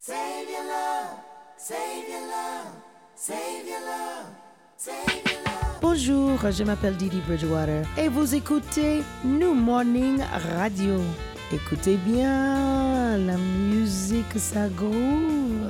Save your love, save your love, save your love, save your love. Bonjour, je m'appelle Didi Bridgewater et vous écoutez New Morning Radio. Écoutez bien, la musique ça groove.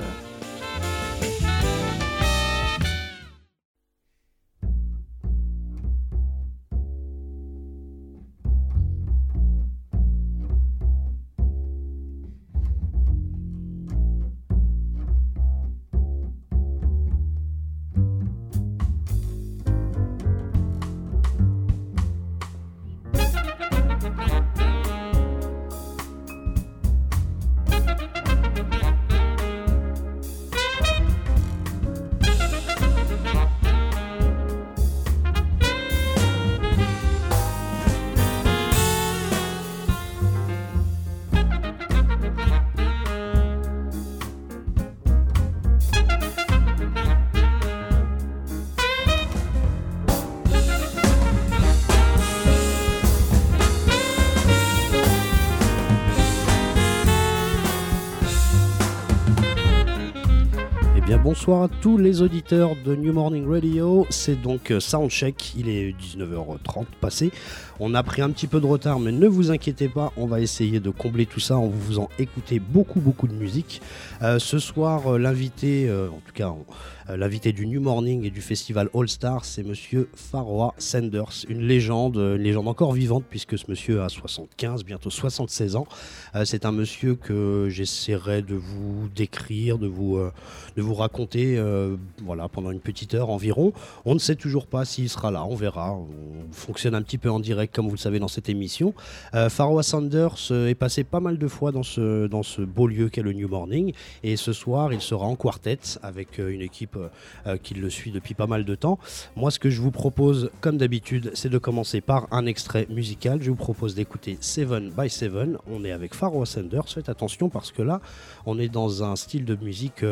Bonsoir à tous les auditeurs de New Morning Radio, c'est donc Soundcheck, il est 19h30 passé, on a pris un petit peu de retard mais ne vous inquiétez pas, on va essayer de combler tout ça en vous faisant écouter beaucoup de musique. Ce soir l'invité, en tout cas l'invité du New Morning et du festival All Star, c'est monsieur Pharoah Sanders, une légende encore vivante puisque ce monsieur a 75, bientôt 76 ans. C'est un monsieur que j'essaierai de vous décrire, de vous raconter voilà, pendant une petite heure environ. On ne sait toujours pas s'il sera là, on verra. On fonctionne un petit peu en direct comme vous le savez dans cette émission. Pharoah Sanders est passé pas mal de fois dans ce beau lieu qu'est le New Morning et ce soir il sera en quartet avec une équipe qui le suit depuis pas mal de temps. Moi ce que je vous propose comme d'habitude c'est de commencer par un extrait musical. Je vous propose d'écouter 7 by 7. On est avec Pharoah Sanders, faites attention parce que là on est dans un style de musique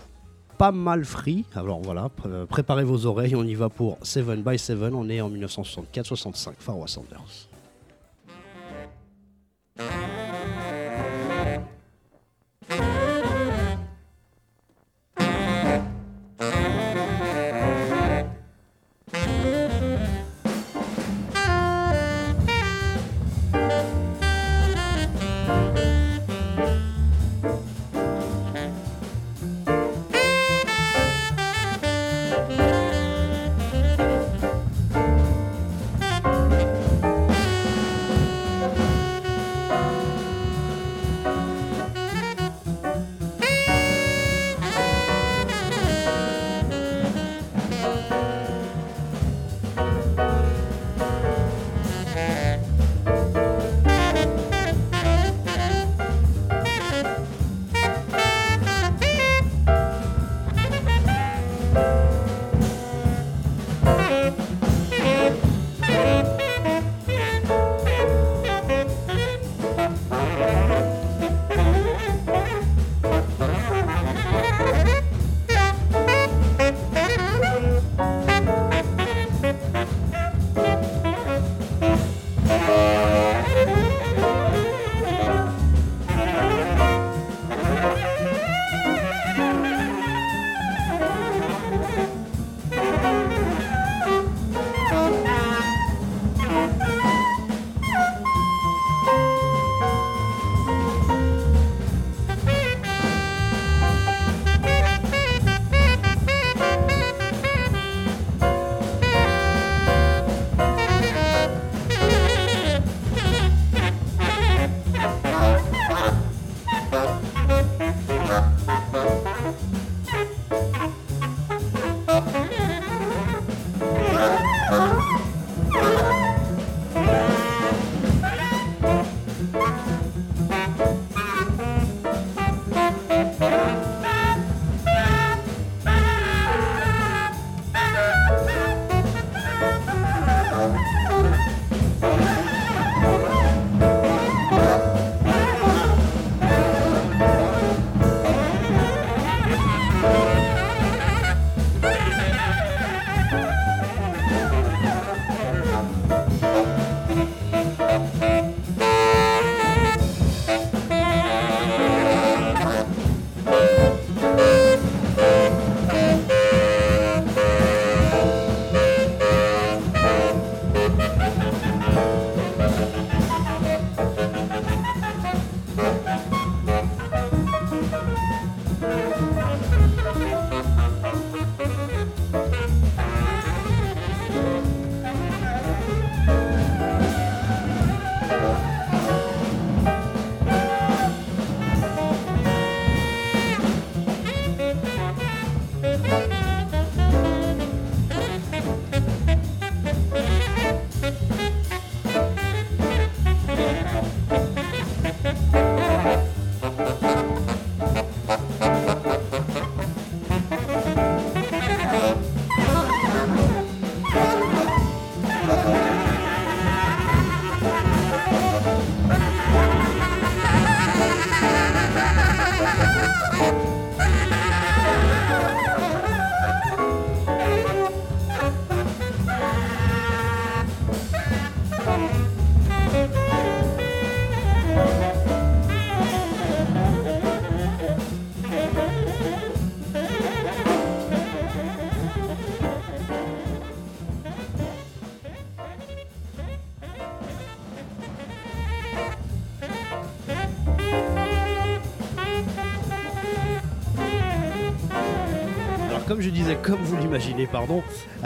pas mal free, alors voilà, préparez vos oreilles, on y va pour 7 by 7, on est en 1964-65, Pharoah Sanders. comme je disais, comme vous l'imaginez, pardon,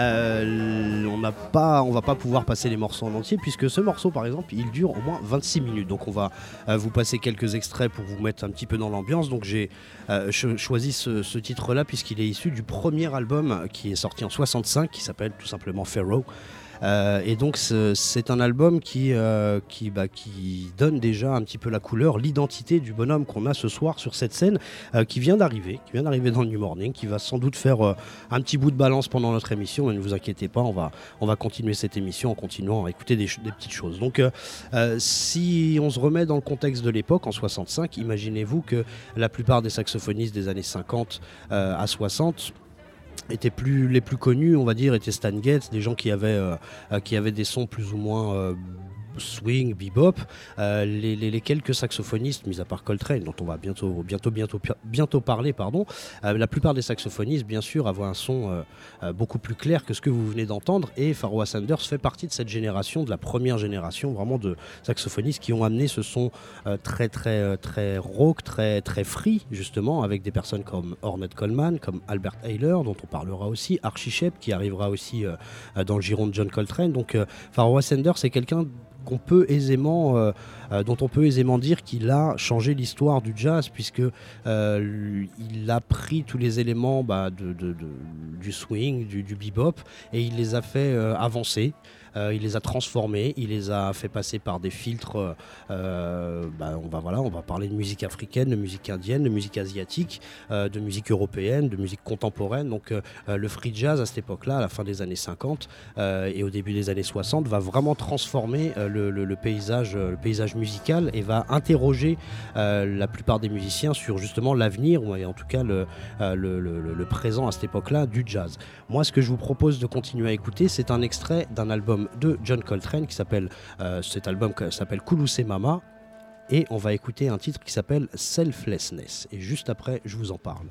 on va pas pouvoir passer les morceaux en entier puisque ce morceau, par exemple, il dure au moins 26 minutes. Donc on va vous passer quelques extraits pour vous mettre un petit peu dans l'ambiance. Donc j'ai choisi ce titre-là puisqu'il est issu du premier album qui est sorti en 65, qui s'appelle tout simplement Pharaoh. Et donc c'est un album qui donne déjà un petit peu la couleur, l'identité du bonhomme qu'on a ce soir sur cette scène, qui vient d'arriver dans le New Morning, qui va sans doute faire un petit bout de balance pendant notre émission. Mais ne vous inquiétez pas, on va continuer cette émission en continuant à écouter des petites choses. Donc si on se remet dans le contexte de l'époque, en 65, imaginez-vous que la plupart des saxophonistes des années 50 à 60 les plus connus, on va dire, étaient Stan Getz, des gens qui avaient des sons plus ou moins swing, bebop. Les quelques saxophonistes, mis à part Coltrane, dont on va bientôt parler, pardon, la plupart des saxophonistes, bien sûr, avaient un son beaucoup plus clair que ce que vous venez d'entendre. Et Pharoah Sanders fait partie de cette génération, de la première génération, vraiment de saxophonistes qui ont amené ce son très rock, très free, justement, avec des personnes comme Ornette Coleman, comme Albert Ayler, dont on parlera aussi, Archie Shepp, qui arrivera aussi dans le giron de John Coltrane. Donc Pharoah Sanders, c'est quelqu'un dont on peut aisément dire qu'il a changé l'histoire du jazz, puisque il a pris tous les éléments du swing, du bebop, et il les a fait avancer. Il les a transformés, il les a fait passer par des filtres. On va parler de musique africaine, de musique indienne, de musique asiatique, de musique européenne, de musique contemporaine. Donc le free jazz à cette époque-là, à la fin des années 50 et au début des années 60, va vraiment transformer le paysage musical et va interroger la plupart des musiciens sur justement l'avenir, ou en tout cas le présent à cette époque-là du jazz. Moi, ce que je vous propose de continuer à écouter, c'est un extrait d'un album de John Coltrane cet album s'appelle Koulousé Mama, et on va écouter un titre qui s'appelle Selflessness, et juste après je vous en parle.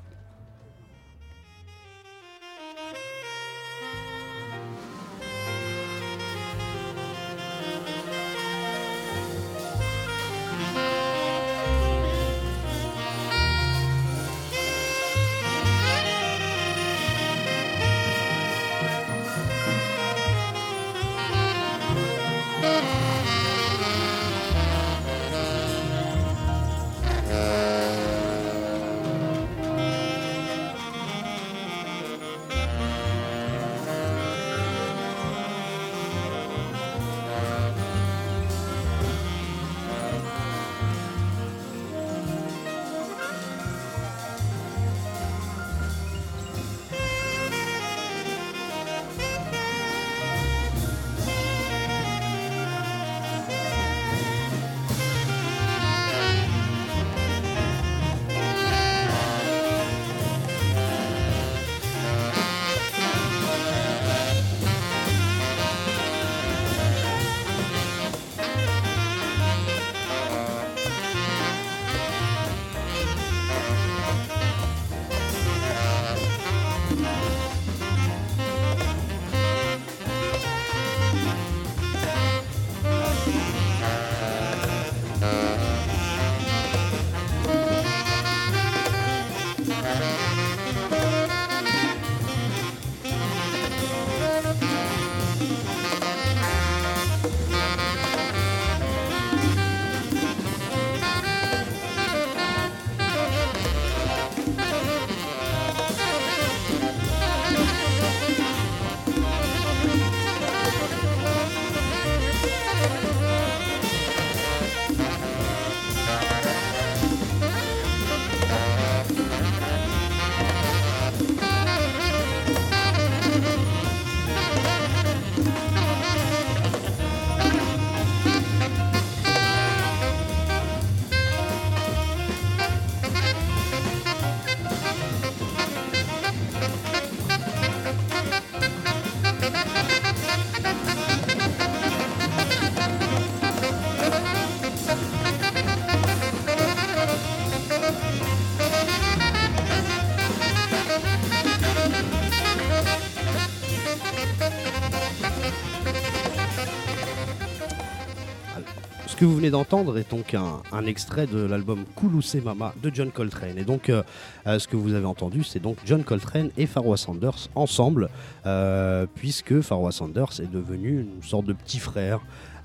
Ce que vous venez d'entendre est donc un extrait de l'album Koulousé Mama de John Coltrane. Et donc, ce que vous avez entendu, c'est donc John Coltrane et Pharoah Sanders ensemble, puisque Pharoah Sanders est devenu une sorte de petit frère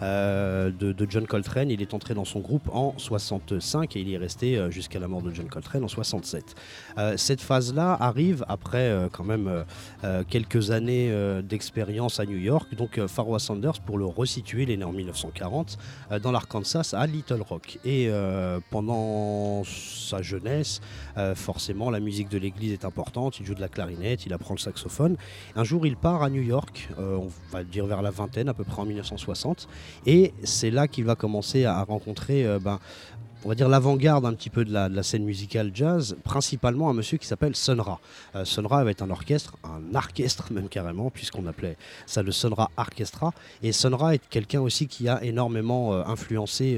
de John Coltrane. Il est entré dans son groupe en 65 et il y est resté jusqu'à la mort de John Coltrane en 67. Cette phase-là arrive après quand même quelques années d'expérience à New York. Donc Pharoah Sanders, pour le resituer, il est né en 1940 dans l'Arkansas à Little Rock. Et pendant sa jeunesse, forcément la musique de l'église est importante. Il joue de la clarinette, il apprend le saxophone. Un jour il part à New York, on va dire vers la vingtaine, à peu près en 1960. Et c'est là qu'il va commencer à rencontrer on va dire l'avant-garde un petit peu de la scène musicale jazz, principalement un monsieur qui s'appelle Sun Ra. Sun Ra va être un orchestre même carrément, puisqu'on appelait ça le Sun Ra Orchestra. Et Sun Ra est quelqu'un aussi qui a énormément influencé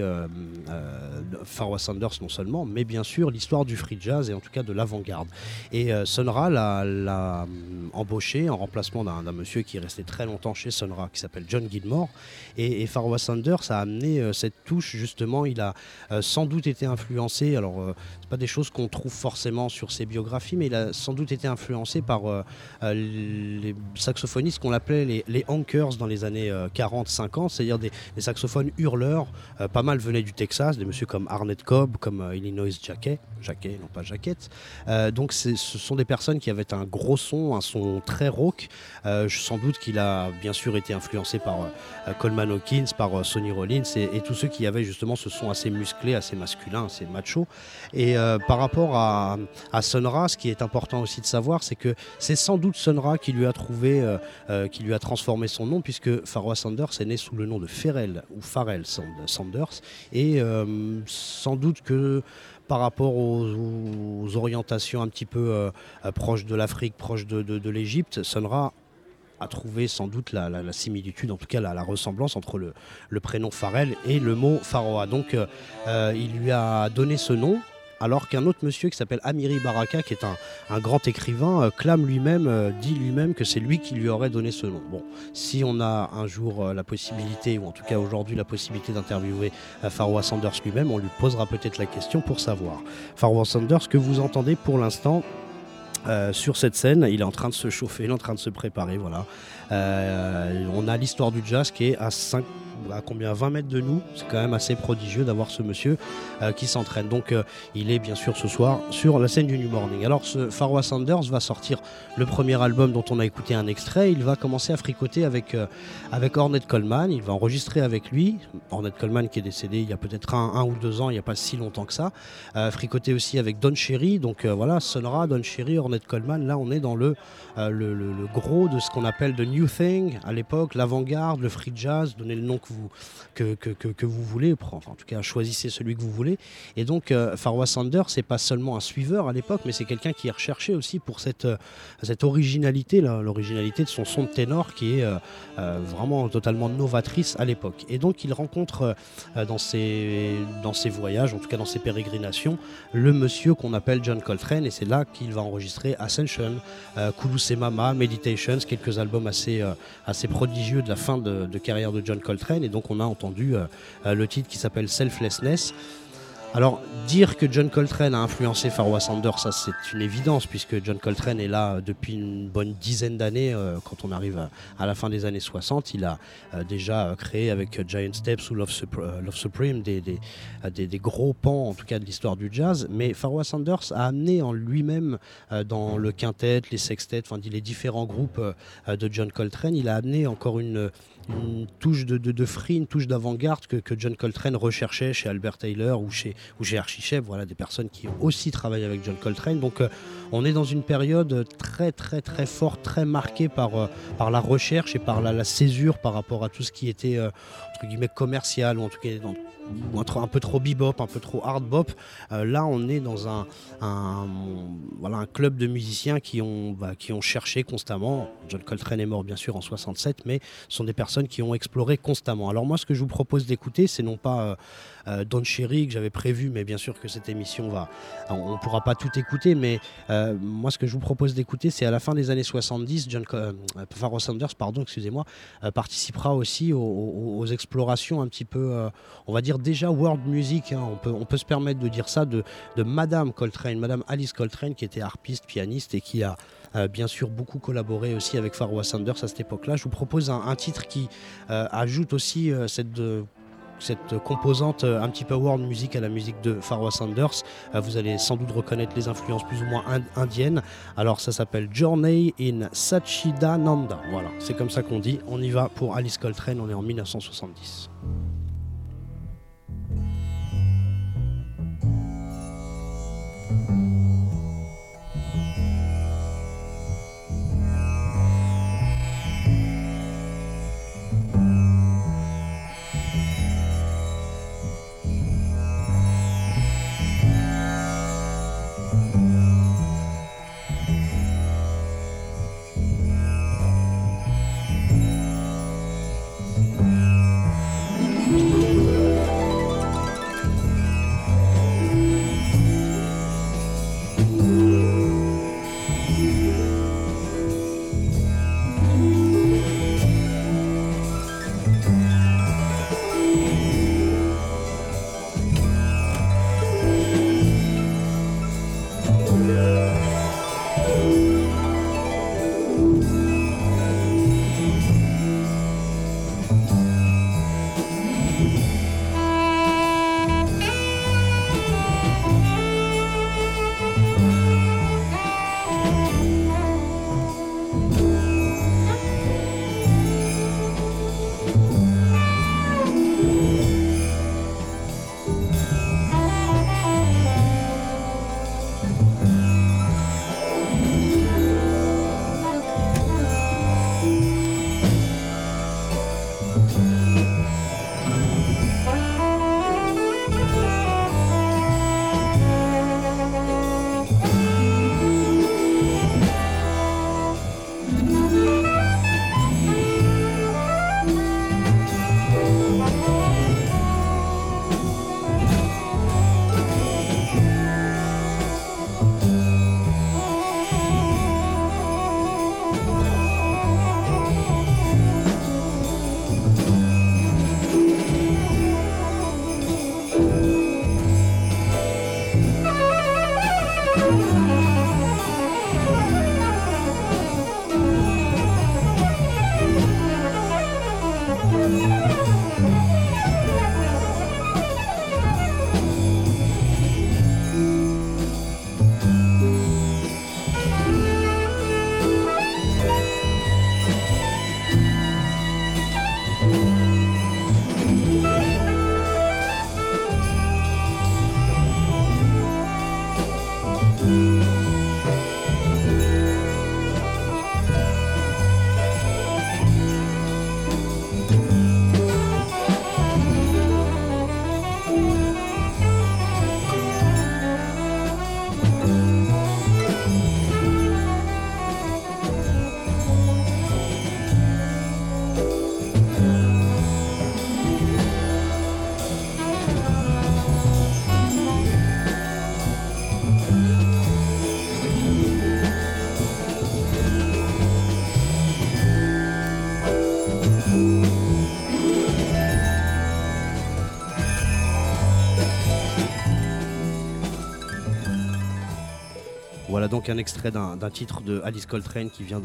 Pharoah Sanders non seulement, mais bien sûr l'histoire du free jazz et en tout cas de l'avant-garde. Et Sun Ra l'a embauché en remplacement d'un monsieur qui est resté très longtemps chez Sun Ra, qui s'appelle John Gilmore. Et Pharoah Sanders a amené cette touche, justement. Il a sans doute été influencé, alors c'est pas des choses qu'on trouve forcément sur ses biographies, mais il a sans doute été influencé par les saxophonistes qu'on appelait les honkers dans les années 40-50, c'est-à-dire des saxophones hurleurs. Pas mal venaient du Texas, des messieurs comme Arnett Cobb, comme Illinois Jacquet, non pas Jaquette. Donc ce sont des personnes qui avaient un gros son, un son très rauque. Sans doute qu'il a bien sûr été influencé par Coleman Hawkins, par Sonny Rollins et tous ceux qui avaient justement ce son assez musclé, assez masculin, assez macho. Et par rapport à Sun Ra, ce qui est important aussi de savoir, c'est que c'est sans doute Sun Ra qui lui a trouvé, qui lui a transformé son nom, puisque Pharoah Sanders est né sous le nom de Pharrell Sanders. Et sans doute que par rapport aux orientations un petit peu proches de l'Afrique, proches de l'Égypte, Sun Ra a trouvé sans doute la similitude, en tout cas la ressemblance entre le prénom Pharrell et le mot Pharoah. Donc il lui a donné ce nom, alors qu'un autre monsieur qui s'appelle Amiri Baraka, qui est un grand écrivain, dit lui-même que c'est lui qui lui aurait donné ce nom. Bon, si on a un jour la possibilité, ou en tout cas aujourd'hui la possibilité d'interviewer Pharoah Sanders lui-même, on lui posera peut-être la question pour savoir. Pharoah Sanders, que vous entendez pour l'instant sur cette scène, il est en train de se chauffer, il est en train de se préparer, voilà. On a l'histoire du jazz qui est à 20 mètres de nous. C'est quand même assez prodigieux d'avoir ce monsieur qui s'entraîne. Donc il est bien sûr ce soir sur la scène du New Morning. Alors ce Pharoah Sanders va sortir le premier album dont on a écouté un extrait. Il va commencer à fricoter avec Ornette Coleman. Il va enregistrer avec lui. Ornette Coleman qui est décédé il y a peut-être un ou 2 ans, il n'y a pas si longtemps que ça. Fricoter aussi avec Don Cherry. Donc voilà, Sun Ra, Don Cherry, Ornette Coleman. Là on est dans le gros de ce qu'on appelle the new thing à l'époque, l'avant-garde, le free jazz. Donnez le nom que vous voulez, enfin en tout cas choisissez celui que vous voulez. Et donc Pharoah Sanders, c'est pas seulement un suiveur à l'époque, mais c'est quelqu'un qui est recherché aussi pour cette originalité, l'originalité de son son de ténor qui est vraiment totalement novatrice à l'époque. Et donc il rencontre dans ses voyages, en tout cas dans ses pérégrinations, le monsieur qu'on appelle John Coltrane, et c'est là qu'il va enregistrer Ascension, Koulousé Mama, Meditations, quelques albums assez prodigieux de la fin de carrière de John Coltrane. Et donc on a entendu le titre qui s'appelle Selflessness. Alors, dire que John Coltrane a influencé Pharoah Sanders, ça c'est une évidence, puisque John Coltrane est là depuis une bonne dizaine d'années. Quand on arrive à la fin des années 60, il a déjà créé avec Giant Steps ou Love Supreme des gros pans, en tout cas de l'histoire du jazz. Mais Pharoah Sanders a amené en lui-même, dans le quintet, les sextets, enfin les différents groupes de John Coltrane, il a amené encore une touche de free, une touche d'avant-garde que John Coltrane recherchait chez Albert Taylor ou chez Archie Shepp, voilà, des personnes qui ont aussi travaillé avec John Coltrane. Donc on est dans une période très très très forte, très marquée par la recherche et par la césure par rapport à tout ce qui était entre guillemets commercial, ou en tout cas un peu trop bebop, un peu trop hard bop. Là on est dans un club de musiciens qui ont cherché constamment. John Coltrane est mort bien sûr en 67, mais ce sont des personnes qui ont exploré constamment. Alors moi ce que je vous propose d'écouter, c'est non pas Don Cherry que j'avais prévu, mais bien sûr que cette émission on ne pourra pas tout écouter, mais moi ce que je vous propose d'écouter, c'est à la fin des années 70, Pharoah Sanders participera aussi aux explorations un petit peu, on va dire, déjà world music, hein, on peut se permettre de dire ça, de Madame Coltrane, Madame Alice Coltrane, qui était harpiste, pianiste et qui a bien sûr beaucoup collaboré aussi avec Pharoah Sanders à cette époque-là. Je vous propose un titre qui ajoute aussi cette composante un petit peu world music à la musique de Pharoah Sanders. Vous allez sans doute reconnaître les influences plus ou moins indiennes. Alors ça s'appelle Journey in Satchidananda. Voilà, c'est comme ça qu'on dit. On y va pour Alice Coltrane, on est en 1970. Voilà donc un extrait d'un titre de Alice Coltrane qui vient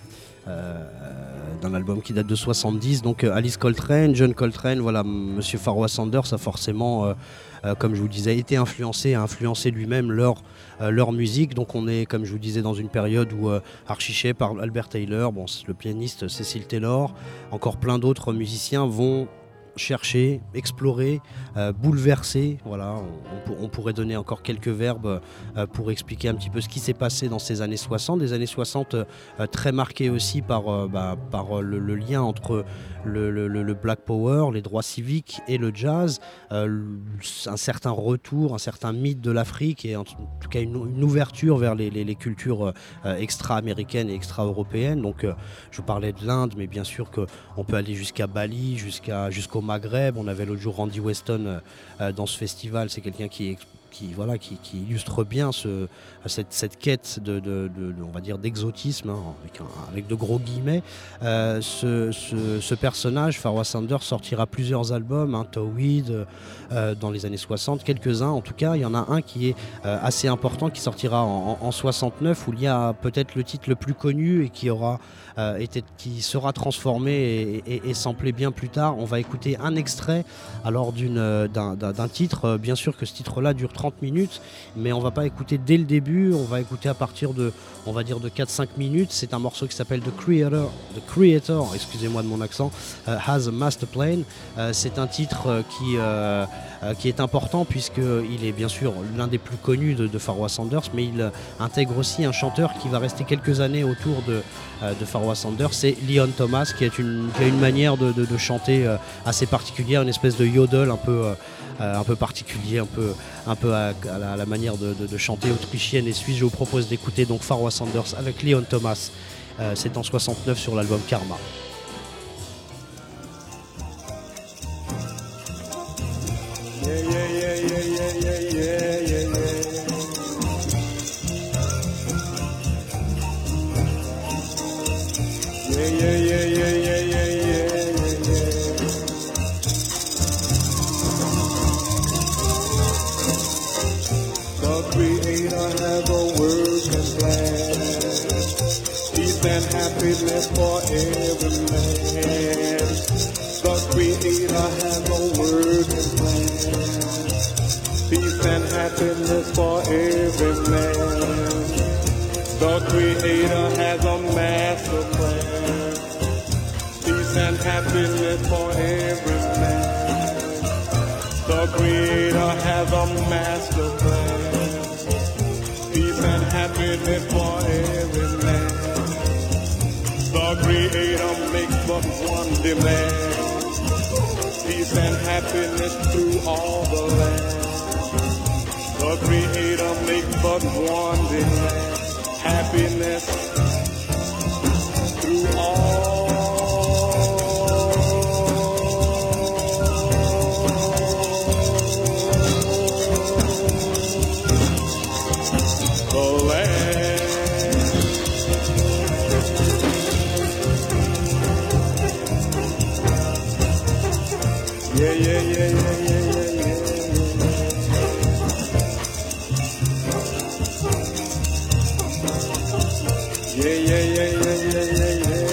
d'un album qui date de 70. Donc Alice Coltrane, John Coltrane, voilà, Monsieur Pharoah Sanders a forcément, comme je vous disais, été influencé, a influencé lui-même leur musique. Donc on est, comme je vous disais, dans une période où Archie par Albert Taylor, bon, le pianiste Cecil Taylor, encore plein d'autres musiciens vont chercher, explorer, bouleverser. Voilà, on pourrait donner encore quelques verbes pour expliquer un petit peu ce qui s'est passé dans ces années 60. Des années 60 très marquées aussi par le lien entre le Black Power, les droits civiques et le jazz, un certain retour, un certain mythe de l'Afrique et en tout cas une ouverture vers les cultures extra-américaines et extra-européennes. Donc je vous parlais de l'Inde, mais bien sûr qu'on peut aller jusqu'à Bali, jusqu'au Maghreb. On avait l'autre jour Randy Weston dans ce festival. C'est quelqu'un qui qui illustre bien cette quête on va dire d'exotisme, hein, avec de gros guillemets. Ce personnage, Pharoah Sanders, sortira plusieurs albums, hein, Towhead, dans les années 60, quelques-uns en tout cas. Il y en a un qui est assez important, qui sortira en 69, où il y a peut-être le titre le plus connu et qui sera transformé et samplé bien plus tard. On va écouter un extrait alors d'un titre. Bien sûr que ce titre-là dure 30 minutes, mais on va pas écouter dès le début, on va écouter à partir de 4-5 minutes. C'est un morceau qui s'appelle The Creator, excusez-moi de mon accent, Has a Master Plan. C'est un titre qui est important puisqu'il est bien sûr l'un des plus connus de Pharoah Sanders, mais il intègre aussi un chanteur qui va rester quelques années autour de Pharoah Sanders, c'est Leon Thomas, qui a une manière de chanter assez particulière, une espèce de yodel un peu particulier, un peu à la manière de chanter autrichienne et suisse. Je vous propose d'écouter donc Pharoah Sanders avec Leon Thomas. C'est en 69 sur l'album Karma. Happiness for every man. The Creator has a working plan. Peace and happiness for every man. The Creator has a master plan. Peace and happiness for every man. The Creator has a master plan. Peace and happiness for every man. The Creator makes but one demand. Peace and happiness through all the land. The Creator makes but one demand. Happiness through all the land. Yeah, yeah, yeah, yeah, yeah, yeah, yeah. Yeah, yeah, yeah, yeah, yeah, yeah, yeah, yeah.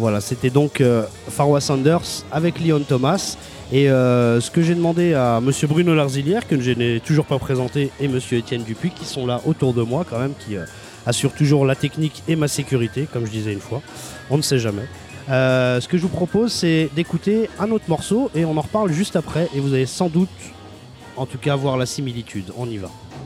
Voilà, c'était donc Farwa Sanders avec Leon Thomas. Et ce que j'ai demandé à monsieur Bruno Larzilière, que je n'ai toujours pas présenté, et monsieur Étienne Dupuis, qui sont là autour de moi quand même, qui assurent toujours la technique et ma sécurité, comme je disais une fois. On ne sait jamais. Ce que je vous propose, c'est d'écouter un autre morceau et on en reparle juste après. Et vous allez sans doute, en tout cas, voir la similitude. On y va.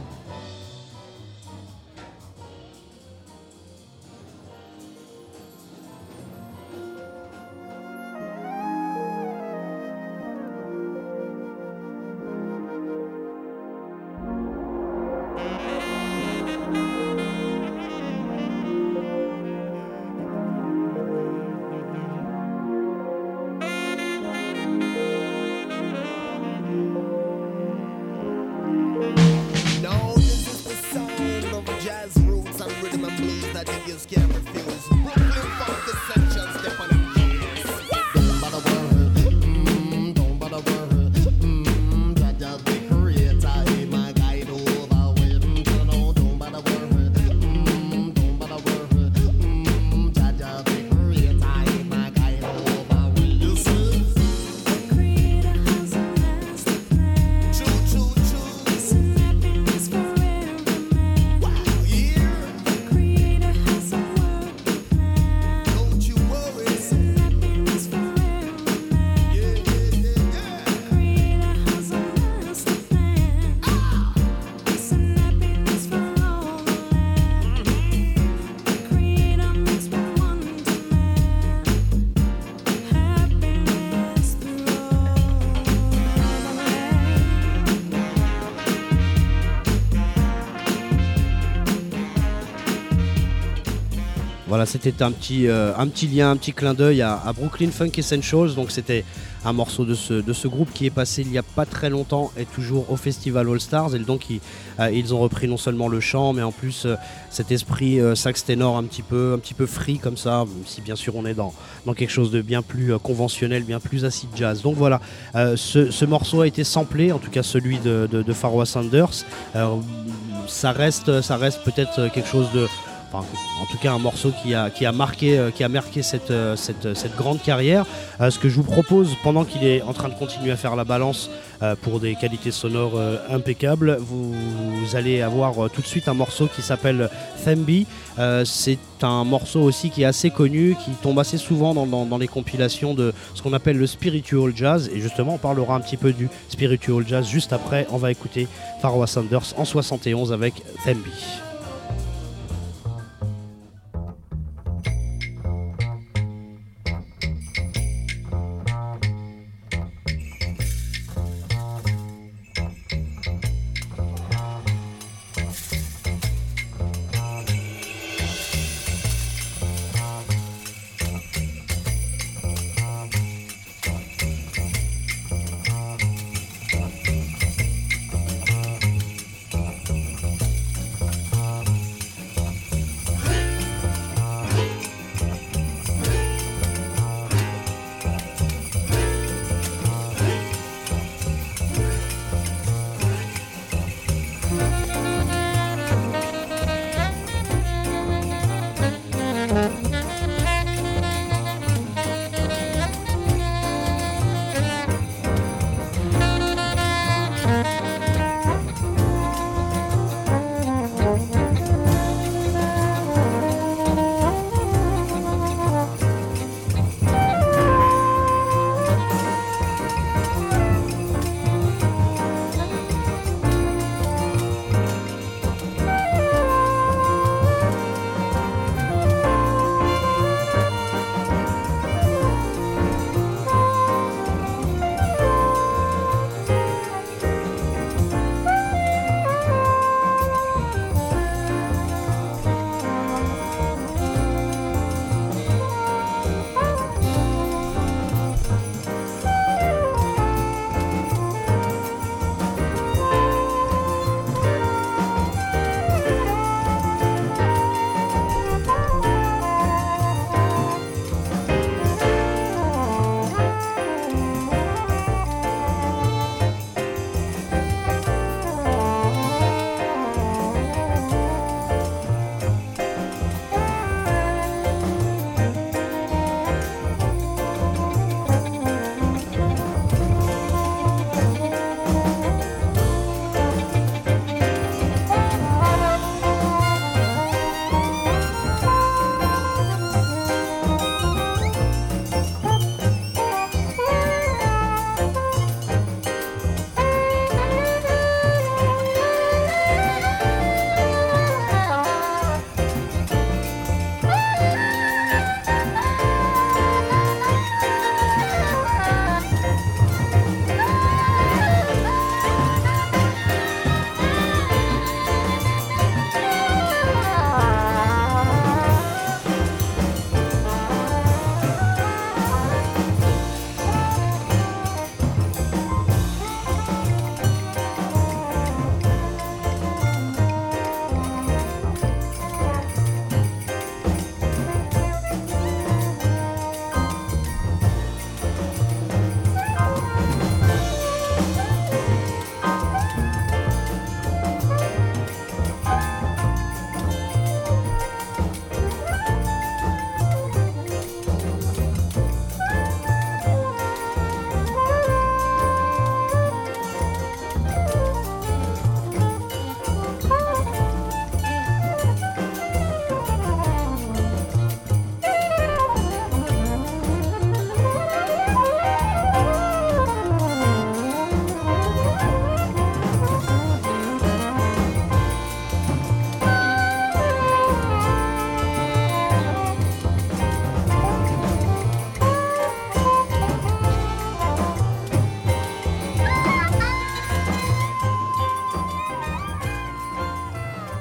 Voilà, c'était un petit lien, un petit clin d'œil à Brooklyn Funk Essentials. Donc c'était un morceau de ce groupe qui est passé il n'y a pas très longtemps et toujours au Festival All Stars. Et donc ils ont repris non seulement le chant, mais en plus cet esprit sax ténor un petit peu free comme ça, même si bien sûr on est dans quelque chose de bien plus conventionnel, bien plus acid jazz. Donc voilà, ce morceau a été samplé, en tout cas celui de Farwa Sanders. Ça reste peut-être quelque chose de... en tout cas un morceau qui a marqué cette grande carrière. Ce que je vous propose, pendant qu'il est en train de continuer à faire la balance pour des qualités sonores impeccables, vous allez avoir tout de suite un morceau qui s'appelle Thembi. C'est un morceau aussi qui est assez connu, qui tombe assez souvent dans les compilations de ce qu'on appelle le spiritual jazz, et justement on parlera un petit peu du spiritual jazz juste après. On va écouter Farwa Sanders en 71 avec Thembi.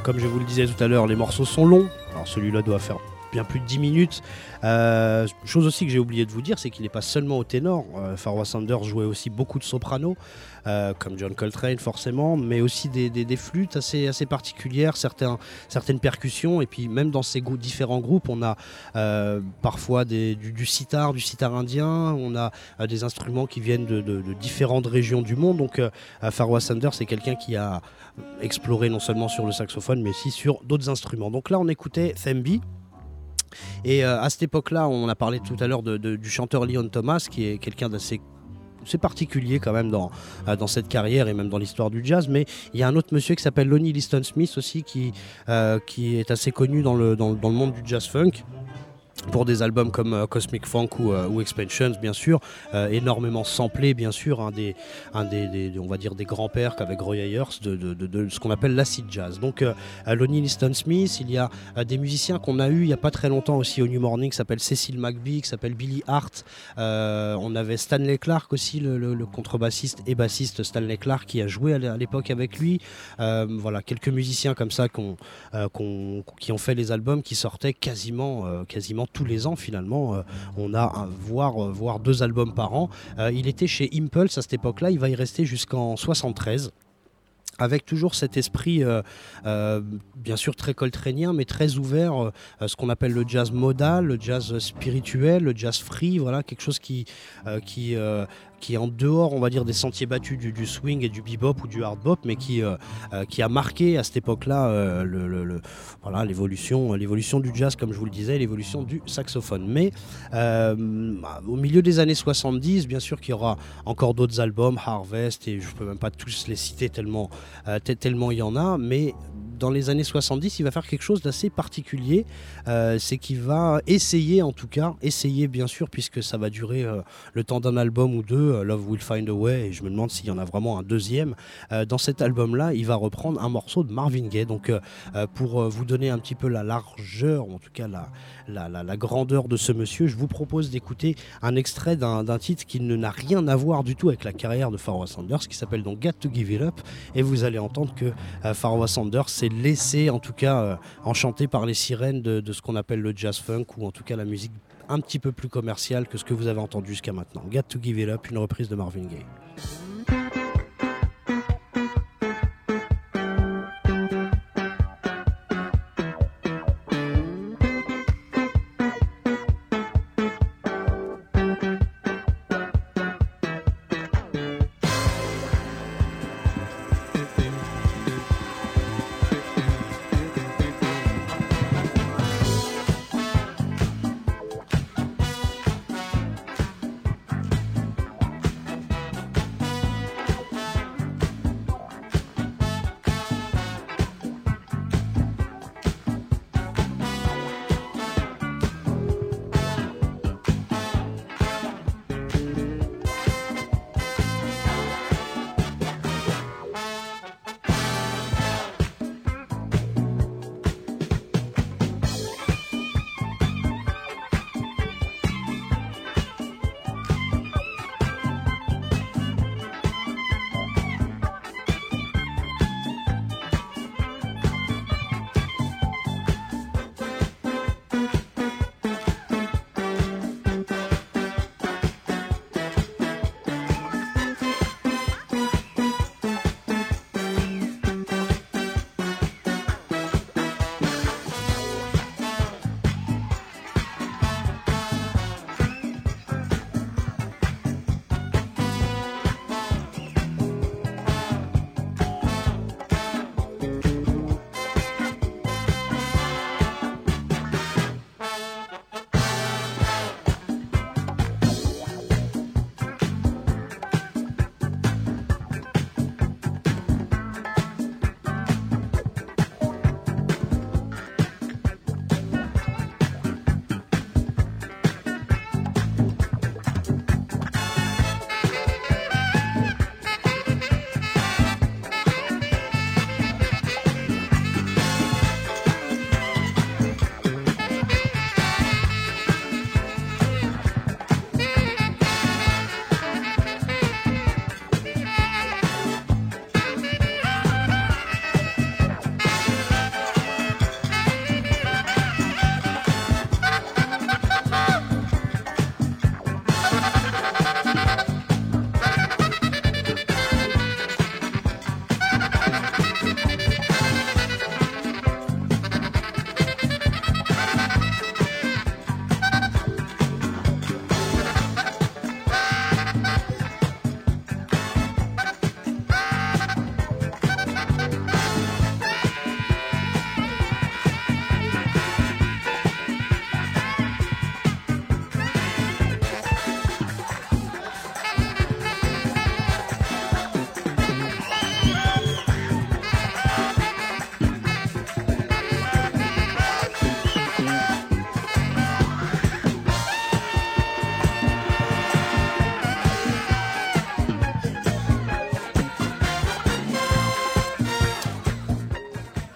Comme je vous le disais tout à l'heure, les morceaux sont longs. Alors celui-là doit faire bien plus de 10 minutes. Chose aussi que j'ai oublié de vous dire, c'est qu'il n'est pas seulement au ténor. Pharoah Sanders jouait aussi beaucoup de soprano, comme John Coltrane forcément, mais aussi des flûtes assez particulières, certaines percussions, et puis même dans ces différents groupes, on a parfois du sitar indien, on a des instruments qui viennent de différentes régions du monde. Donc Pharoah Sanders, c'est quelqu'un qui a exploré non seulement sur le saxophone, mais aussi sur d'autres instruments. Donc là, on écoutait Thembi. Et à cette époque-là, on a parlé tout à l'heure du chanteur Leon Thomas, qui est quelqu'un d'assez particulier quand même dans cette carrière et même dans l'histoire du jazz. Mais il y a un autre monsieur qui s'appelle Lonnie Liston Smith aussi, qui est assez connu dans le monde du jazz funk, pour des albums comme Cosmic Funk ou Expansions, bien sûr, énormément samplé, bien sûr, on va dire des grands-pères qu'avec Roy Ayers de ce qu'on appelle l'acid jazz. Donc Lonnie Liston Smith, il y a des musiciens qu'on a eu il n'y a pas très longtemps aussi au New Morning, qui s'appelle Cecil McBee, qui s'appelle Billy Hart, on avait Stanley Clarke aussi, le contrebassiste et bassiste Stanley Clarke, qui a joué à l'époque avec lui. Voilà, quelques musiciens comme ça qui ont fait les albums, qui sortaient quasiment tous les ans finalement. On a voire 2 albums par an. Il était chez Impulse à cette époque-là, il va y rester jusqu'en 73. Avec toujours cet esprit, bien sûr très coltranien, mais très ouvert, ce qu'on appelle le jazz modal, le jazz spirituel, le jazz free, voilà, quelque chose qui est en dehors, on va dire, des sentiers battus du swing et du bebop ou du hard bop, mais qui a marqué à cette époque-là voilà, l'évolution du jazz, comme je vous le disais, l'évolution du saxophone. Mais au milieu des années 70, bien sûr qu'il y aura encore d'autres albums, Harvest, et je ne peux même pas tous les citer tellement il y en a, mais dans les années 70, il va faire quelque chose d'assez particulier, c'est qu'il va essayer bien sûr, puisque ça va durer le temps d'un album ou deux, Love Will Find a Way, et je me demande s'il y en a vraiment un deuxième. Dans cet album-là, il va reprendre un morceau de Marvin Gaye. Donc pour vous donner un petit peu la largeur, ou en tout cas la grandeur de ce monsieur, je vous propose d'écouter un extrait d'un titre qui n'a rien à voir du tout avec la carrière de Pharoah Sanders, qui s'appelle donc Got to Give It Up, et vous allez entendre que Pharoah Sanders s'est laissé en tout cas enchanter par les sirènes de ce qu'on appelle le jazz funk, ou en tout cas la musique un petit peu plus commerciale que ce que vous avez entendu jusqu'à maintenant. Got to Give It Up, une reprise de Marvin Gaye.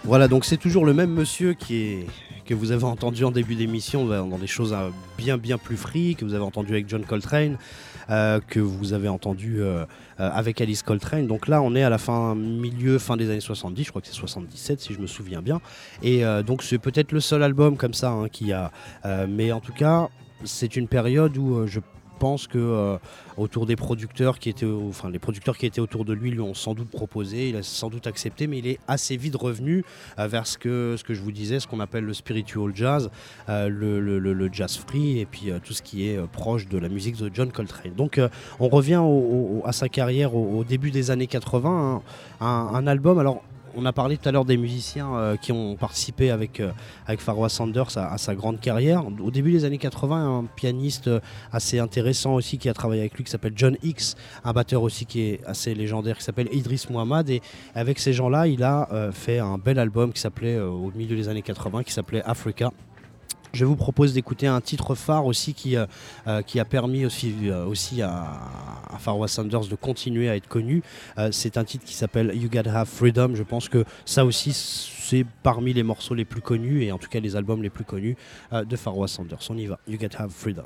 Voilà, donc c'est toujours le même monsieur que vous avez entendu en début d'émission dans des choses bien plus free, que vous avez entendu avec John Coltrane, que vous avez entendu avec Alice Coltrane. Donc là, on est à la fin des années 70, je crois que c'est 77 si je me souviens bien. Et donc c'est peut-être le seul album comme ça qui a... mais en tout cas, c'est une période où je pense que autour des producteurs qui étaient, les producteurs qui étaient autour de lui ont sans doute proposé, il a sans doute accepté, mais il est assez vite revenu vers ce que je vous disais, ce qu'on appelle le spiritual jazz, le jazz free et puis tout ce qui est proche de la musique de John Coltrane. Donc on revient à sa carrière au début des années 80, un album. Alors on a parlé tout à l'heure des musiciens qui ont participé avec Pharoah Sanders à sa grande carrière. Au début des années 80, un pianiste assez intéressant aussi qui a travaillé avec lui qui s'appelle John Hicks, un batteur aussi qui est assez légendaire qui s'appelle Idris Muhammad. Et avec ces gens-là, il a fait un bel album qui s'appelait, au milieu des années 80, qui s'appelait Africa. Je vous propose d'écouter un titre phare aussi qui a permis aussi à Pharoah Sanders de continuer à être connu. C'est un titre qui s'appelle You Gotta Have Freedom. Je pense que ça aussi c'est parmi les morceaux les plus connus et en tout cas les albums les plus connus de Pharoah Sanders. On y va, You Gotta Have Freedom.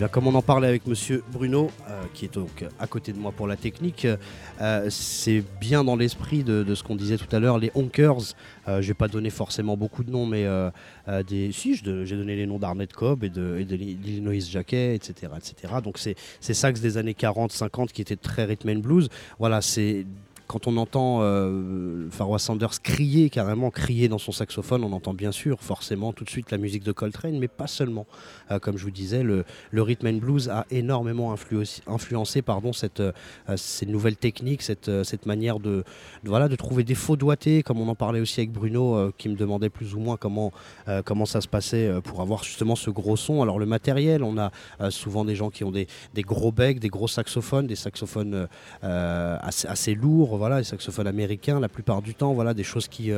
bien, comme on en parlait avec Monsieur Bruno, qui est donc à côté de moi pour la technique, c'est bien dans l'esprit de ce qu'on disait tout à l'heure, les honkers. Je vais pas donner forcément beaucoup de noms, mais j'ai donné les noms d'Arnett Cobb et de l'Illinois Jacquet, etc., etc. Donc c'est sax des années 40-50 qui était très rhythm and blues. Voilà, c'est quand on entend Pharoah Sanders carrément crier dans son saxophone, on entend bien sûr forcément tout de suite la musique de Coltrane, mais pas seulement. Comme je vous disais, le rhythm and blues a énormément influencé ces nouvelles techniques, cette manière de trouver des faux doigtés, comme on en parlait aussi avec Bruno, qui me demandait plus ou moins comment ça se passait pour avoir justement ce gros son. Alors le matériel, on a souvent des gens qui ont des gros becs, des gros saxophones, des saxophones assez lourds. Voilà, les saxophones américains, la plupart du temps, voilà, des choses qui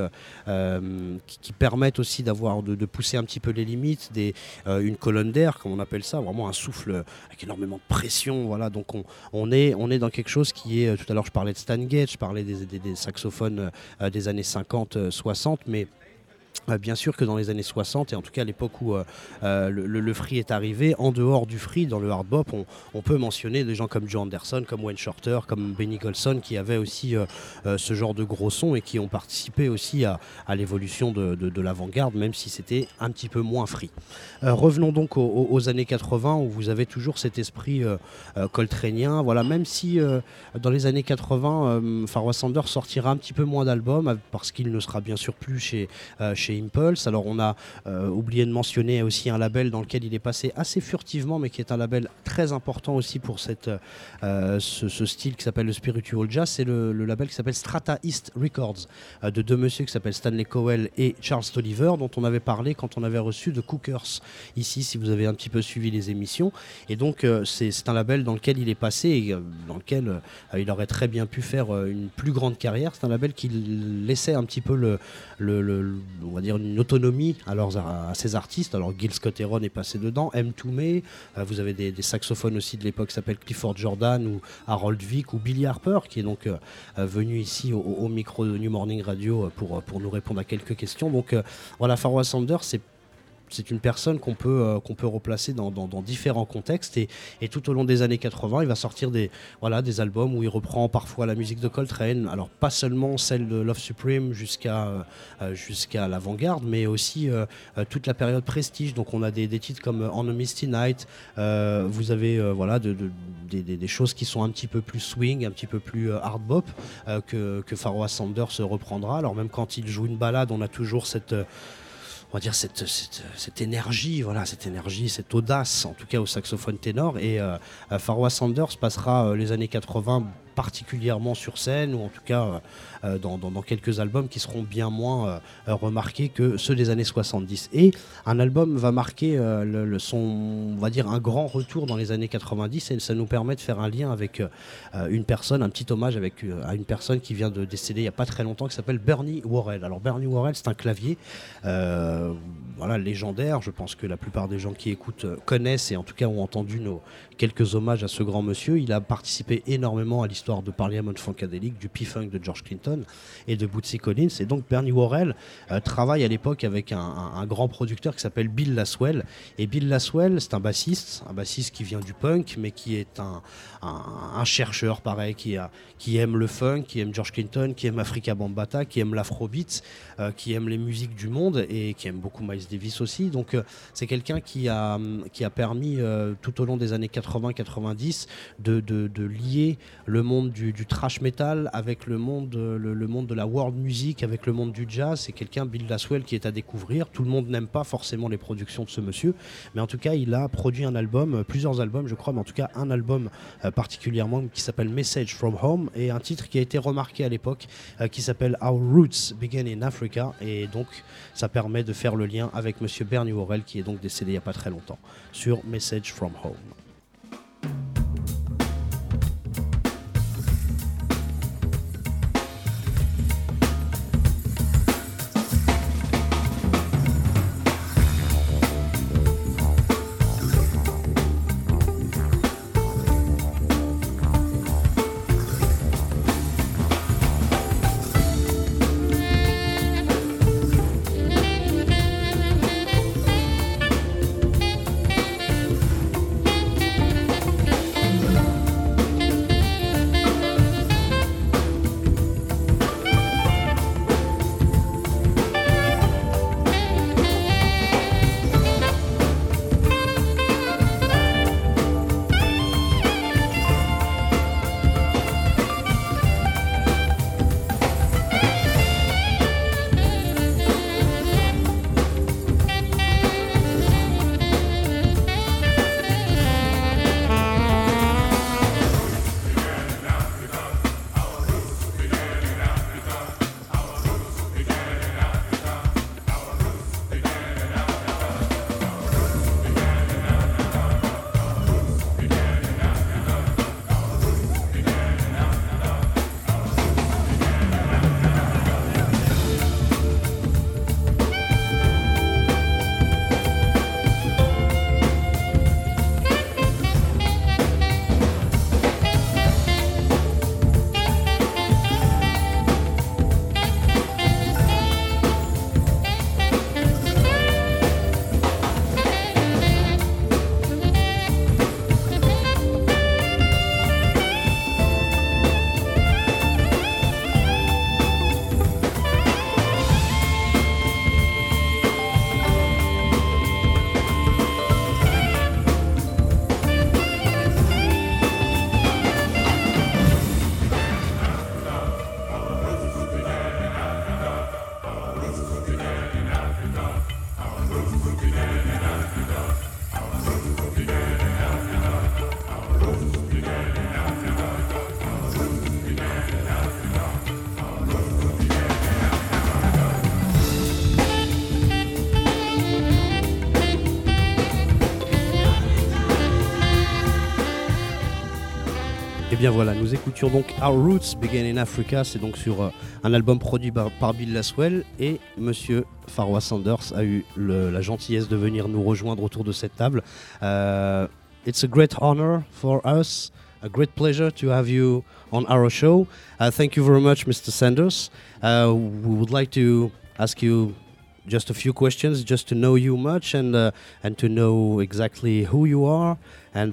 permettent aussi de pousser un petit peu les limites, une colonne d'air, comme on appelle ça, vraiment un souffle avec énormément de pression. Voilà, donc on est dans quelque chose qui est, tout à l'heure je parlais de Stan Getz, je parlais des saxophones des années 50-60, mais bien sûr que dans les années 60, et en tout cas à l'époque où le free est arrivé, en dehors du free, dans le hard bop, on peut mentionner des gens comme Joe Anderson, comme Wayne Shorter, comme Benny Golson, qui avaient aussi ce genre de gros sons et qui ont participé aussi à l'évolution de l'avant-garde, même si c'était un petit peu moins free. Revenons donc aux années 80, où vous avez toujours cet esprit coltranien. Voilà, même si dans les années 80, Pharoah Sanders sortira un petit peu moins d'albums, parce qu'il ne sera bien sûr plus chez Impulse. Alors on a oublié de mentionner aussi un label dans lequel il est passé assez furtivement, mais qui est un label très important aussi pour ce style qui s'appelle le Spiritual Jazz. C'est le label qui s'appelle Strata East Records, de deux messieurs qui s'appellent Stanley Cowell et Charles Tolliver, dont on avait parlé quand on avait reçu The Cookers ici, si vous avez un petit peu suivi les émissions. Et donc c'est un label dans lequel il est passé et dans lequel il aurait très bien pu faire une plus grande carrière. C'est un label qui laissait un petit peu on va dire une autonomie à ces artistes. Alors Gil Scott-Heron est passé dedans, M. Toomey, vous avez des saxophones aussi de l'époque qui s'appellent Clifford Jordan ou Harold Vick ou Billy Harper, qui est donc venu ici au micro de New Morning Radio pour nous répondre à quelques questions. Donc voilà, Pharoah Sanders, c'est une personne qu'on peut replacer dans différents contextes et tout au long des années 80, il va sortir des albums où il reprend parfois la musique de Coltrane, alors pas seulement celle de Love Supreme jusqu'à l'avant-garde, mais aussi toute la période Prestige. Donc on a des titres comme On a Misty Night, vous avez des choses qui sont un petit peu plus swing, un petit peu plus hard bop que Pharoah Sanders reprendra. Alors même quand il joue une ballade, on a toujours cette énergie, cette audace, en tout cas au saxophone ténor. Et Pharoah Sanders passera les années 80 particulièrement sur scène, ou en tout cas dans quelques albums qui seront bien moins remarqués que ceux des années 70. Et un album va marquer on va dire un grand retour dans les années 90, et ça nous permet de faire un lien avec une personne, un petit hommage à une personne qui vient de décéder il n'y a pas très longtemps, qui s'appelle Bernie Worrell. Alors Bernie Worrell, c'est un clavier légendaire. Je pense que la plupart des gens qui écoutent connaissent et en tout cas ont entendu quelques hommages à ce grand monsieur. Il a participé énormément à l'histoire de Parliament Funkadelic, du P-Funk de George Clinton et de Bootsy Collins. Et donc Bernie Worrell travaille à l'époque avec un grand producteur qui s'appelle Bill Laswell. Et Bill Laswell, c'est un bassiste qui vient du punk, mais qui est un chercheur pareil, qui aime le funk, qui aime George Clinton, qui aime Afrika Bambaataa, qui aime l'afrobeat, qui aime les musiques du monde et qui aime beaucoup Miles Davis aussi. Donc c'est quelqu'un qui a permis tout au long des années 80-90 de lier le monde du thrash metal avec le monde de la world music, avec le monde du jazz. C'est quelqu'un, Bill Laswell, qui est à découvrir. Tout le monde n'aime pas forcément les productions de ce monsieur, mais en tout cas il a produit plusieurs albums je crois, mais en tout cas un album particulièrement qui s'appelle Message from Home, et un titre qui a été remarqué à l'époque qui s'appelle Our Roots Begin in Africa, et donc ça permet de faire le lien avec monsieur Bernie Worrell, qui est donc décédé il n'y a pas très longtemps, sur Message from Home. Et bien voilà, nous écoutions donc Our Roots Begin in Africa, c'est donc sur un album produit par Bill Laswell, et Monsieur Pharoah Sanders a eu la gentillesse de venir nous rejoindre autour de cette table. It's a great honor for us, a great pleasure to have you on our show. Thank you very much, Mr. Sanders. We would like to ask you just a few questions, just to know you much and to know exactly who you are and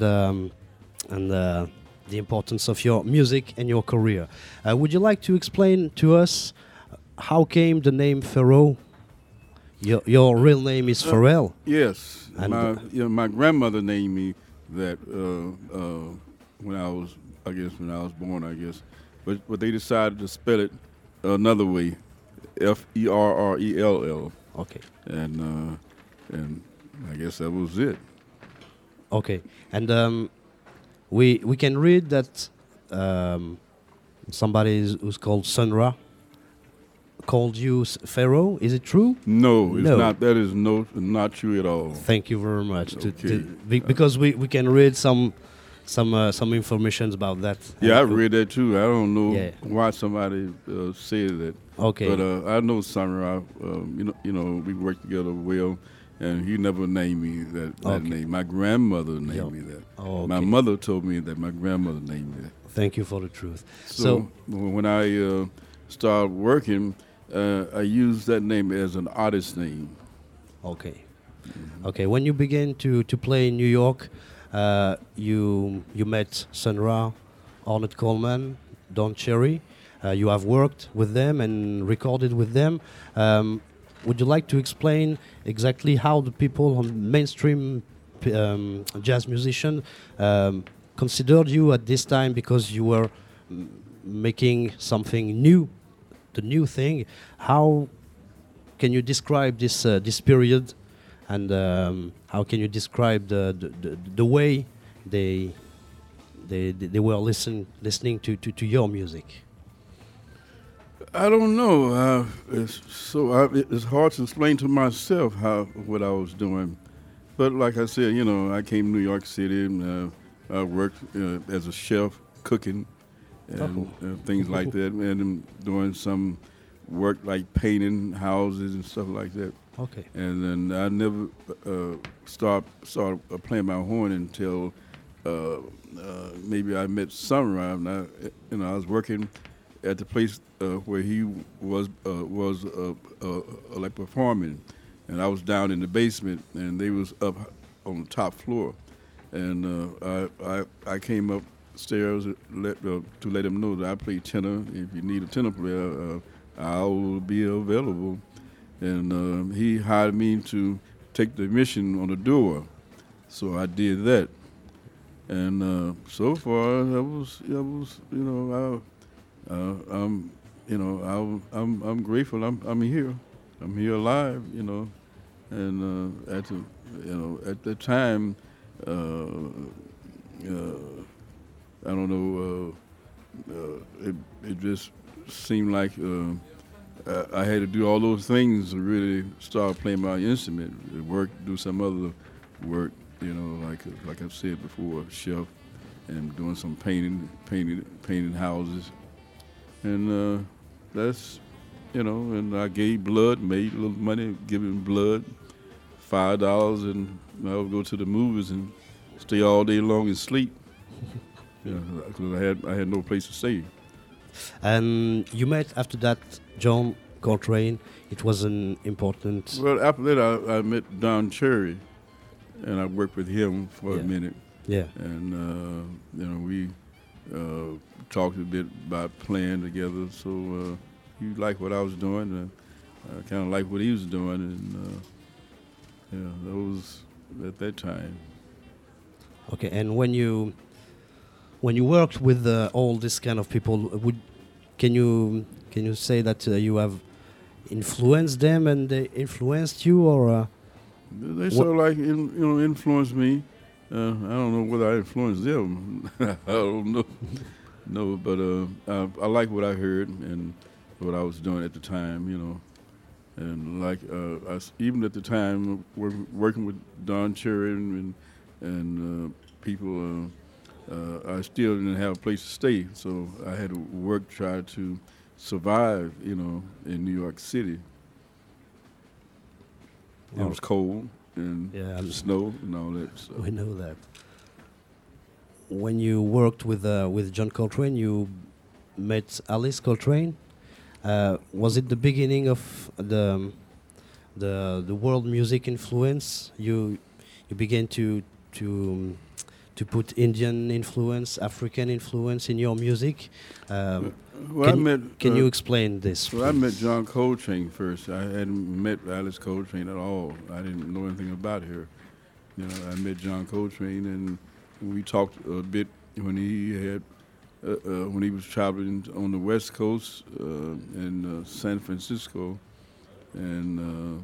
the importance of your music and your career. Would you like to explain to us how came the name Pharoah? Your real name is Pharrell. Yes, And my grandmother named me that when I was born, I guess. But they decided to spell it another way, Ferrell. Okay. And I guess that was it. Okay. And we can read that somebody who's called Sun Ra called you Pharoah. Is it true? No, it's No. not. That is not true at all. Thank you very much. Okay. Because we can read some information about that. Yeah, I read that too. I don't know Yeah. why somebody said that. Okay. But I know Summer. You know, we worked together well, and he never named me that Okay. name. My grandmother named Yeah. me that. Oh, My okay. mother told me that my grandmother named me that. Thank you for the truth. So when I started working, I used that name as an artist name. Okay. Okay. When you began to play in New York, you met Sun Ra, Ornette Coleman, Don Cherry. You have worked with them and recorded with them. Would you like to explain exactly how the people on mainstream jazz musician considered you at this time, because you were making something new, the new thing? How can you describe this period, and how can you describe the way they were listening to your music? I don't know. It's hard to explain to myself what I was doing. But like I said, I came to New York City and I worked as a chef, cooking and things like that, and doing some work like painting houses and stuff like that. Okay. And then I never started playing my horn until maybe I met Sunrise. And I was working at the place where he was like performing, and I was down in the basement, and they was up on the top floor, and I came upstairs to let them know that I play tenor. If you need a tenor player, I will be available. And he hired me to take the mission on the door, so I did that. And so far, I'm grateful. I'm here. I'm here alive. And at the time, I don't know. It just seemed like I had to do all those things to really start playing my instrument, work, do some other work. Like I've said before, chef, and doing some painting houses, and that's and I gave blood, made a little money giving blood, $5, and I would go to the movies and stay all day long and sleep. Because I had no place to stay. And you met after that John Coltrane. It was an important. Well, after that I met Don Cherry, and I worked with him for a minute. Yeah. And we talked a bit about playing together. So he liked what I was doing, and I kind of liked what he was doing, and that was at that time. Okay, and when you worked with all this kind of people, can you say that you have influenced them and they influenced you, or they sort of like influenced me. I don't know whether I influenced them. I don't know. No, but I like what I heard and what I was doing at the time, and like even at the time working with Don Cherry and people I still didn't have a place to stay, so I had to work, try to survive, in New York City. It Oh. was cold and Yeah, snow and all that. So. we know that. When you worked with John Coltrane, you met Alice Coltrane. Was it the beginning of the world music influence? You began to put Indian influence, African influence in your music. Well, Can you explain this? Well, I met please? John Coltrane first. I hadn't met Alice Coltrane at all. I didn't know anything about her. I met John Coltrane, and we talked a bit when he was traveling on the West Coast in San Francisco, and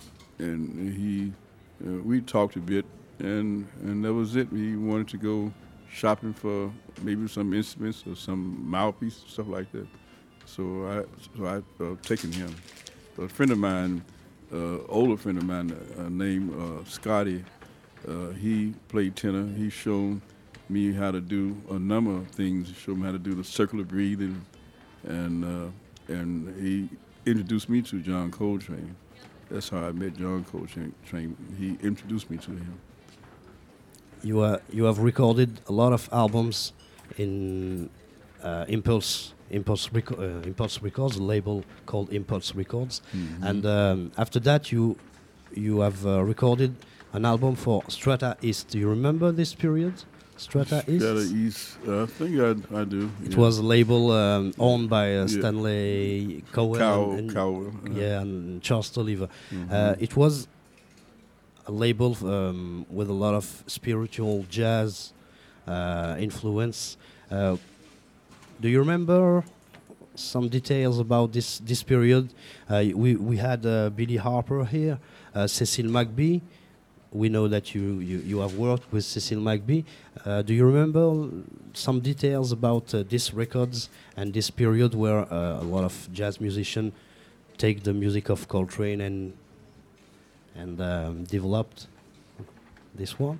we talked a bit, and that was it. He wanted to go shopping for maybe some instruments or some mouthpiece, stuff like that. So I taken him. A friend of mine, older friend of mine named Scotty, he played tenor. He showed me how to do a number of things. He showed me how to do the circular breathing, and he introduced me to John Coltrane. That's how I met John Coltrane. He introduced me to him. You have recorded a lot of albums in Impulse Records, a label called Impulse Records, and after that you have recorded an album for Strata East. Do you remember this period? Strata East. Strata East. I think I do. It was a label owned by Stanley Cowell Cowell. and Charles Tolliver. It was a label with a lot of spiritual jazz influence. Do you remember some details about this period? We had Billy Harper here, Cecil McBee. We know that you have worked with Cecil McBee. Do you remember some details about these records and this period where a lot of jazz musicians take the music of Coltrane and developed this one?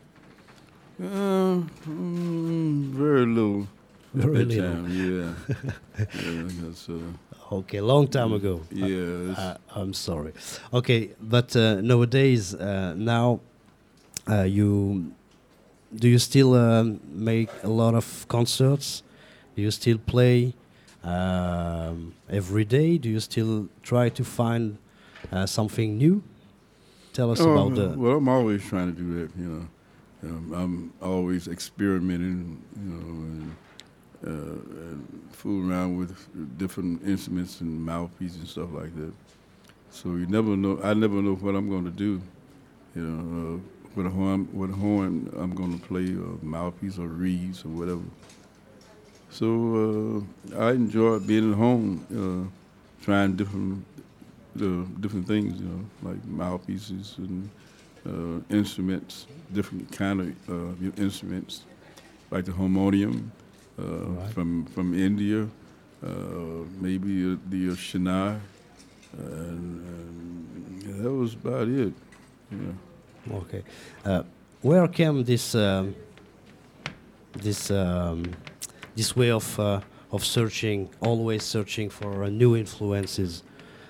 Very little. Very at that little. time, yeah. Yeah, because, Okay, long time ago. yeah, it's- I'm sorry. Okay, but nowadays, now, do you still make a lot of concerts? Do you still play every day? Do you still try to find something new? Tell us about the. Well, I'm always trying to do that. I'm always experimenting. And fool around with different instruments and mouthpieces and stuff like that. So you never know. I never know what I'm going to do. What horn I'm going to play, or mouthpiece, or reeds, or whatever. So I enjoy being at home, trying different things, like mouthpieces and instruments, different kind of instruments, like the harmonium. Right. From India, maybe the Shania, and that was about it. Yeah. Okay, where came this way of searching, always searching for new influences?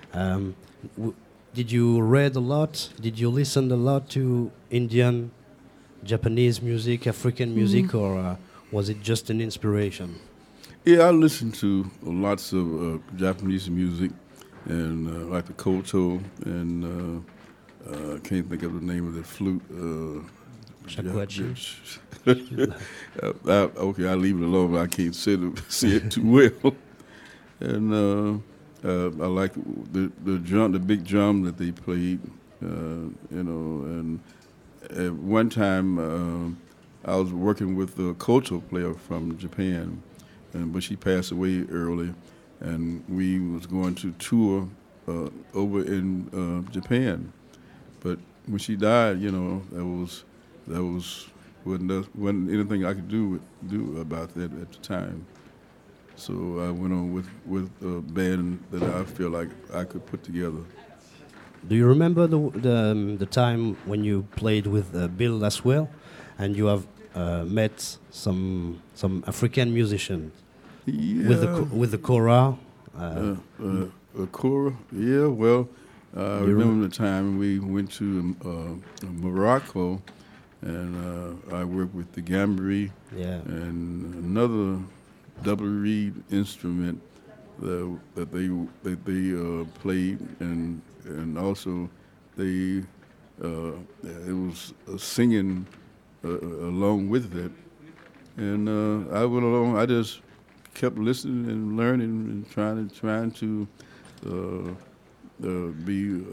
Did you read a lot? Did you listen a lot to Indian, Japanese music, African music, or was it just an inspiration? Yeah, I listened to lots of Japanese music, and like the koto, and I can't think of the name of the flute. Shakuhachi? Okay, I'll leave it alone. I can't say it too well. And I like the drum, the big drum that they played. And at one time I was working with a koto player from Japan, but she passed away early, and we was going to tour over in Japan. But when she died, wasn't anything I could do about that at the time. So I went on with a band that I feel like I could put together. Do you remember the time when you played with Bill Laswell, and you have met some African musicians Yeah. with the kora. Kora, yeah. Well, I remember the time we went to Morocco, and I worked with the gambri Yeah. and another double reed instrument that they played, and also they it was singing along with it, and I went along. I just kept listening and learning and trying to be.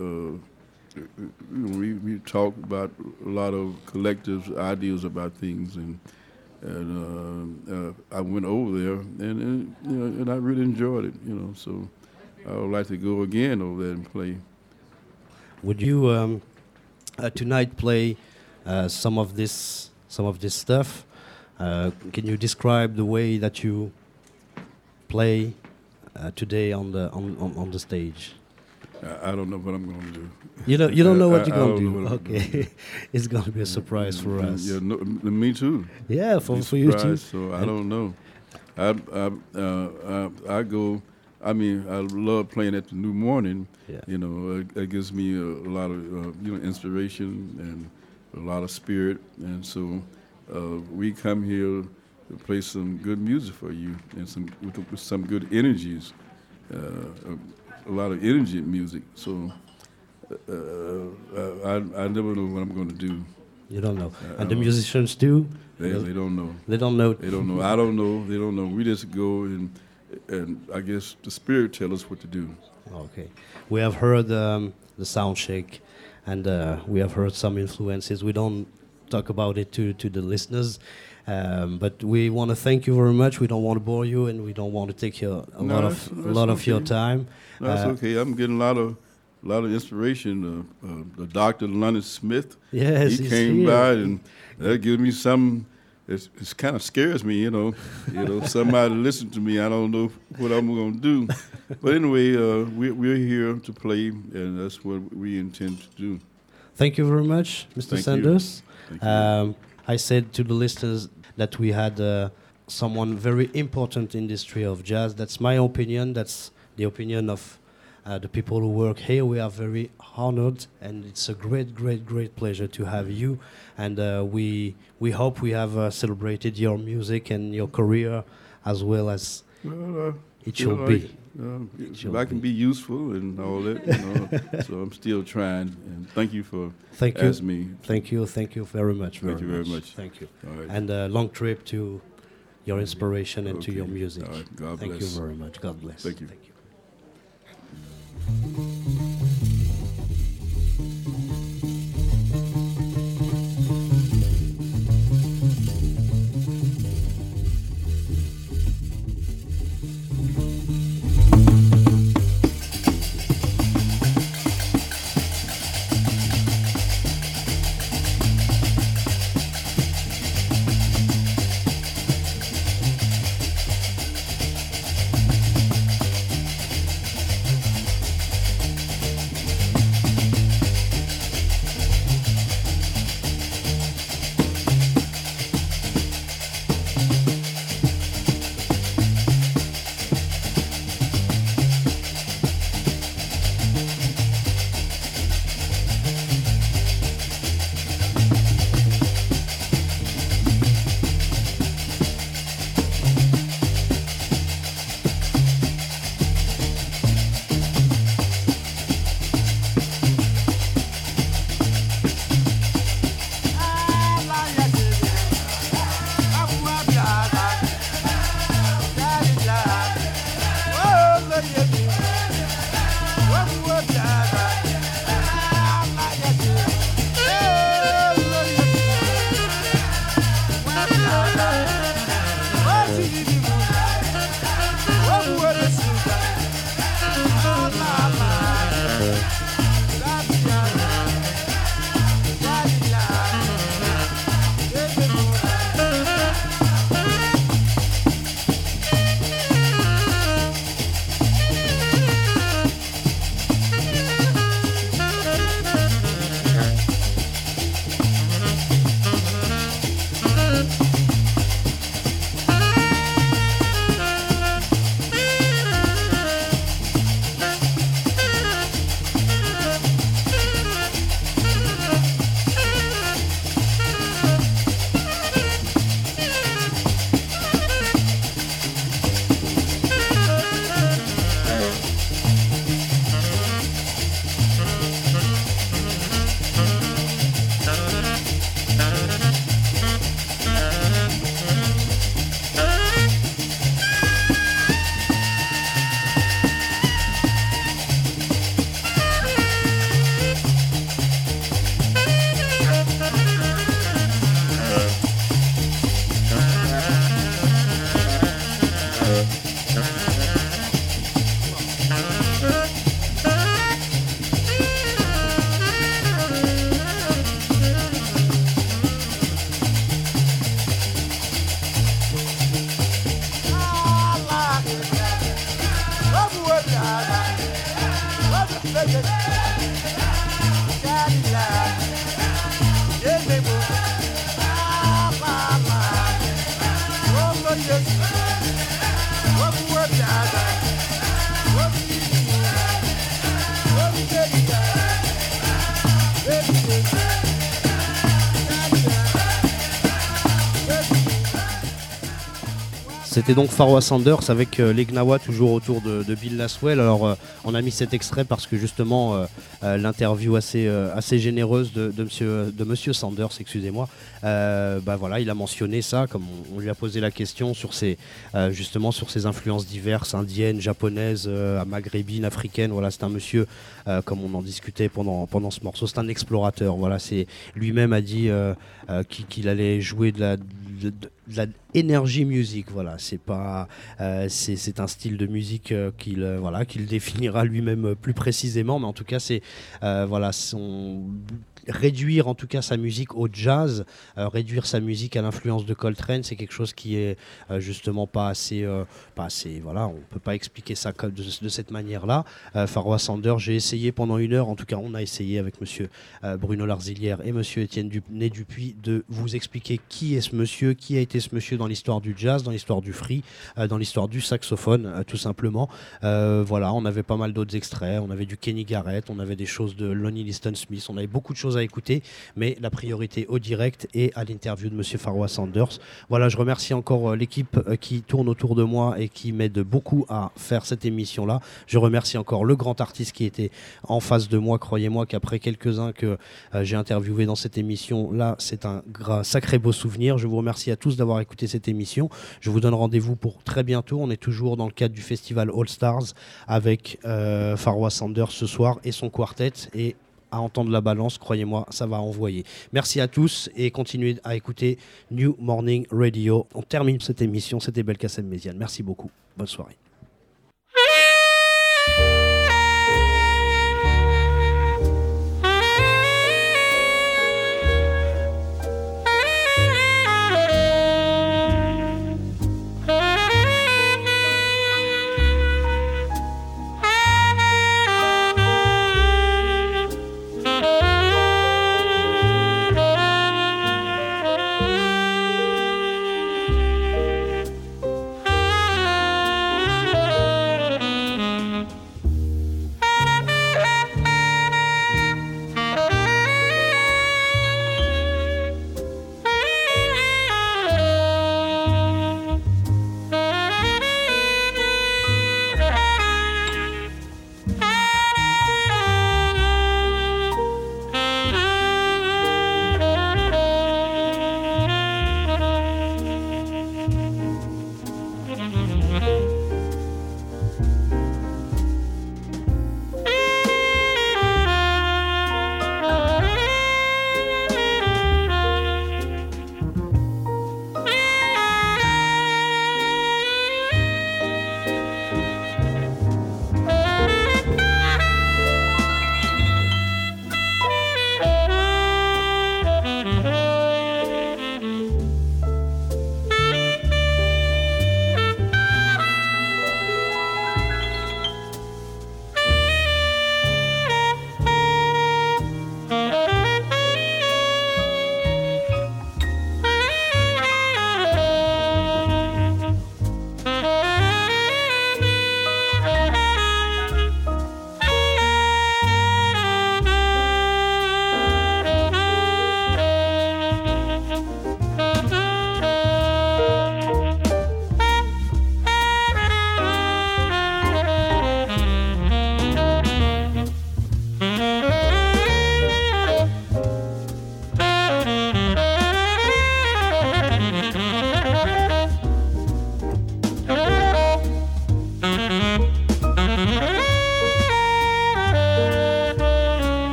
We talked about a lot of collective ideas about things, and I went over there, and I really enjoyed it. So I would like to go again over there and play. Would you tonight play some of this stuff? Can you describe the way that you play today on the stage? I don't know what I'm going to do. You don't know what you're I going don't to know do. what I'm gonna Okay, it's going to be a surprise for us. Yeah, no, me too. Yeah, for Be you too. surprised, So I don't know. I go. I mean, I love playing at the New Morning. Yeah. It gives me a lot of inspiration and a lot of spirit, and so we come here to play some good music for you and with some good energies, a lot of energy music. So I never know what I'm going to do. You don't know, and the musicians do. They don't know. They don't know. They don't know. I don't know. They don't know. We just go and I guess the spirit tells us what to do. Okay, we have heard the sound check, and we have heard some influences. We don't talk about it to the listeners, but we want to thank you very much. We don't want to bore you, and we don't want to take a lot of your time. No, that's okay. I'm getting a lot of inspiration. The Dr. Leonard Smith. Yes, he he's came here. by, and that gives me some. It kind of scares me, Somebody listen to me. I don't know what I'm going to do, but anyway, we're here to play, and that's what we intend to do. Thank you very much, Mr. Thank Sanders. Thank you. I said to the listeners that we had someone very important in the history of jazz. That's my opinion. That's the opinion of the people who work here. We are very honored, and it's a great, great, great pleasure to have you. And we hope we have celebrated your music and your career as well as it should be. If I can be useful and all that, so I'm still trying. And thank you for asking me. Thank you very much. Thank you very much. Thank you. All right. And a long trip to your inspiration and to Okay. your music. All right. God Thank bless. you very much. God bless. Thank you. C'était donc Pharoah Sanders avec les Gnawa toujours autour de Bill Laswell. Alors on a mis cet extrait parce que justement l'interview assez généreuse de monsieur Sanders, excusez-moi, voilà, il a mentionné ça, comme on lui a posé la question sur justement sur ses influences diverses, indiennes, japonaises, maghrébines, africaines. Voilà, c'est un monsieur, comme on en discutait pendant ce morceau, c'est un explorateur. Voilà, c'est lui-même a dit qu'il allait jouer de la energy music. Voilà, c'est un style de musique qu'il définira lui-même plus précisément, mais en tout cas c'est réduire en tout cas sa musique au jazz, réduire sa musique à l'influence de Coltrane, c'est quelque chose qui est justement pas assez, voilà, on peut pas expliquer ça de cette manière-là. Pharoah Sanders, j'ai essayé pendant 1 heure, en tout cas on a essayé avec monsieur Bruno Larzilière et monsieur Étienne Dupuis de vous expliquer qui est ce monsieur, qui a été ce monsieur dans l'histoire du jazz, dans l'histoire du free, dans l'histoire du saxophone, tout simplement. Voilà, on avait pas mal d'autres extraits, on avait du Kenny Garrett, on avait des choses de Lonnie Liston Smith, on avait beaucoup de choses à écouter, mais la priorité au direct et à l'interview de monsieur Pharoah Sanders. Voilà, je remercie encore l'équipe qui tourne autour de moi et qui m'aide beaucoup à faire cette émission-là. Je remercie encore le grand artiste qui était en face de moi. Croyez-moi qu'après quelques-uns que j'ai interviewés dans cette émission-là, c'est un sacré beau souvenir. Je vous remercie à tous d'avoir écouté cette émission. Je vous donne rendez-vous pour très bientôt. On est toujours dans le cadre du festival All Stars avec Pharoah Sanders ce soir et son quartet, et à entendre la balance, croyez-moi, ça va envoyer. Merci à tous et continuez à écouter New Morning Radio. On termine cette émission, c'était Belkacem Méziane. Merci beaucoup, bonne soirée.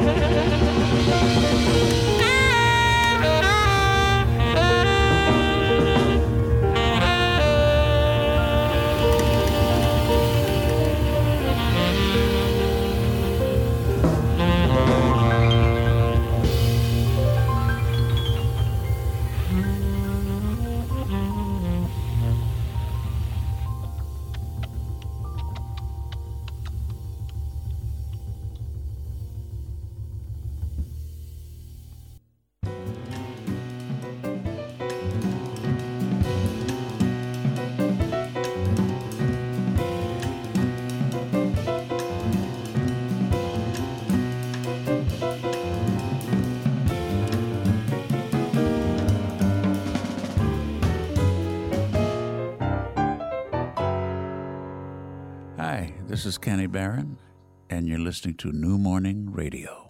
Hi, this is Kenny Barron, and you're listening to New Morning Radio.